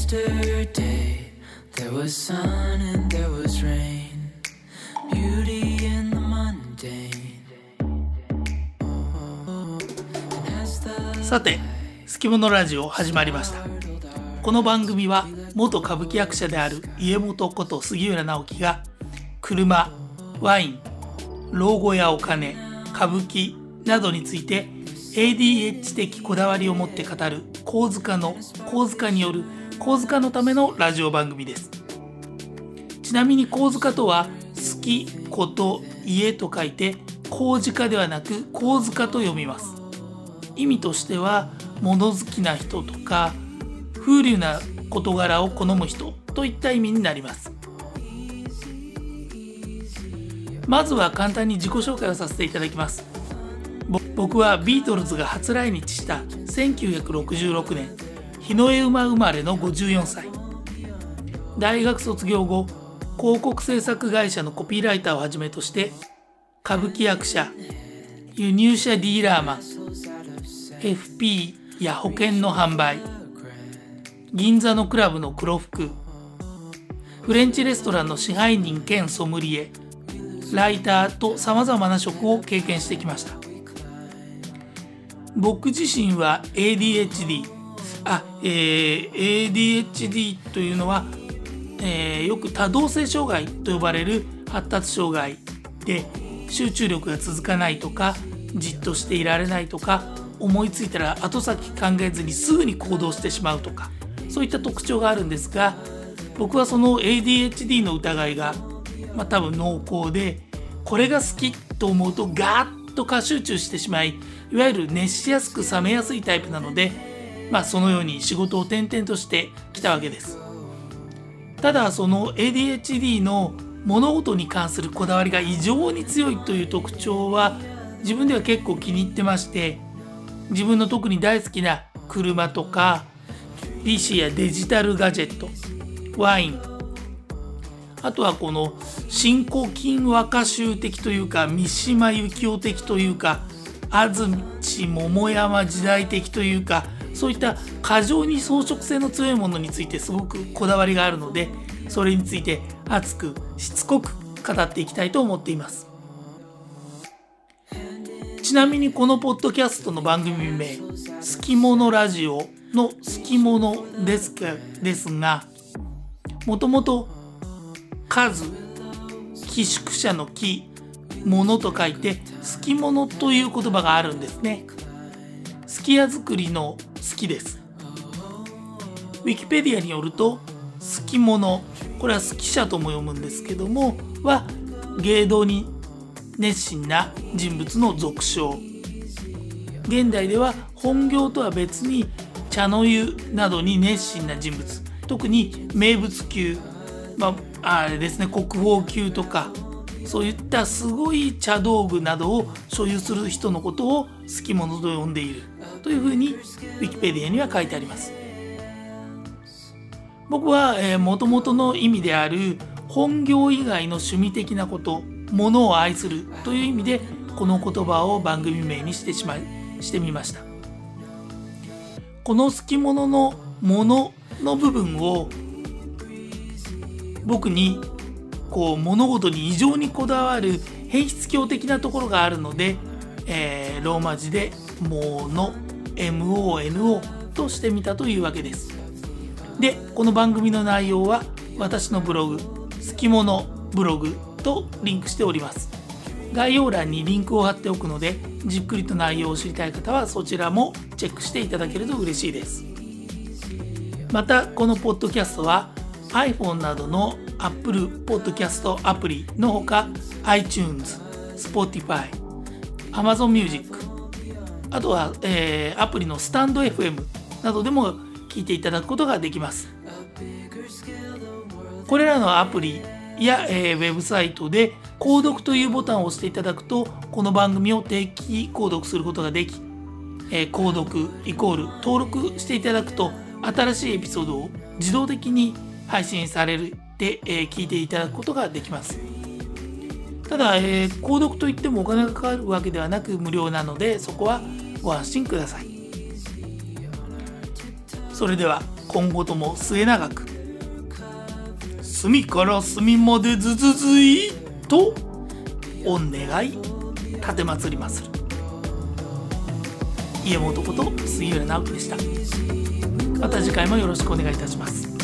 Yesterday there was sun and there was rain, beauty in the mundane. さて、すきものラジオ始まりました。この番組は元歌舞伎役者である家元こと杉浦直樹が車、ワイン、老後やお金、歌舞伎などについて ADH 的こだわりを持って語る講塚による講塚のためのラジオ番組です。ちなみに講塚とは好き、こと、家と書いて講塚ではなく講塚と読みます。意味としては物好きな人とか風流な事柄を好む人といった意味になります。まずは簡単に自己紹介をさせていただきます。僕はビートルズが初来日した1966年日の絵馬生まれの54歳。大学卒業後、広告制作会社のコピーライターをはじめとして歌舞伎役者、輸入車ディーラーマン、FP や保険の販売、銀座のクラブの黒服、フレンチレストランの支配人兼ソムリエ、ライターとさまざまな職を経験してきました。僕自身は ADHD というのは、よく多動性障害と呼ばれる発達障害で、集中力が続かないとか、じっとしていられないとか、思いついたら後先考えずにすぐに行動してしまうとか、そういった特徴があるんですが、僕はその ADHD の疑いが、多分濃厚で、これが好きと思うとガーッと過集中してしまい、いわゆる熱しやすく冷めやすいタイプなので、そのように仕事を転々としてきたわけです。ただその ADHD の物事に関するこだわりが異常に強いという特徴は自分では結構気に入ってまして、自分の特に大好きな車とか PC やデジタルガジェット、ワイン、あとはこの新古今和歌集的というか三島由紀夫的というか安土桃山時代的というか、そういった過剰に装飾性の強いものについてすごくこだわりがあるので、それについて熱くしつこく語っていきたいと思っています。ちなみにこのポッドキャストの番組名、すきものラジオのすきものですが、もともと数、寄宿舎の寄、ものと書いてすきものという言葉があるんですね。すき家作りの好きです。ウィキペディアによると、すきもの、これはすき社とも読むんですけども、は芸道に熱心な人物の俗称。現代では本業とは別に茶の湯などに熱心な人物、特に名物級、あれですね、国宝級とか、そういったすごい茶道具などを所有する人のことをすきものと呼んでいるというふうにウィキペディアには書いてあります。僕は元々の意味である本業以外の趣味的なこと、ものを愛するという意味でこの言葉を番組名にしてみました。このすきもののものの部分を僕に物事に異常にこだわる変質狂的なところがあるので、ローマ字でもの MONO としてみたというわけです。で、この番組の内容は私のブログすきものブログとリンクしております。概要欄にリンクを貼っておくので、じっくりと内容を知りたい方はそちらもチェックしていただけると嬉しいです。またこのポッドキャストは iPhone などの Apple Podcast アプリのほか iTunes、Spotify、Amazon Music、あとは、アプリのスタンド FM などでも聞いていただくことができます。これらのアプリや、ウェブサイトで購読というボタンを押していただくと、この番組を定期購読することができ、購読イコール登録していただくと新しいエピソードを自動的に配信されて、聞いていただくことができます。ただ、購読といってもお金がかかるわけではなく無料なので、そこはご安心ください。それでは今後とも末永く隅から隅までずずずいと御願い立てまつりまする。家元こと杉浦直樹でした。また次回もよろしくお願いいたします。